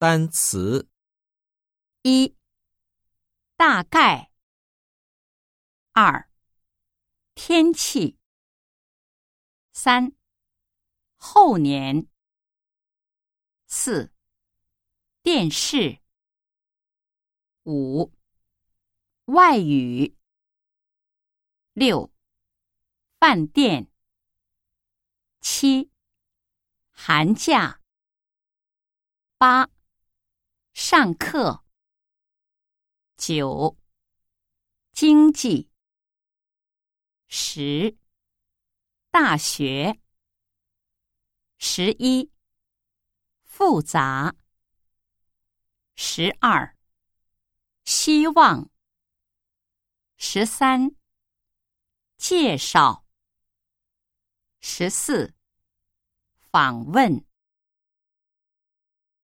单词一、大概。二、天气。三、后年。四、电视。五、外语。六、饭店。七、寒假。八、上课。九、经济。十、大学。11、复杂。12、希望。13、介绍。14、访问。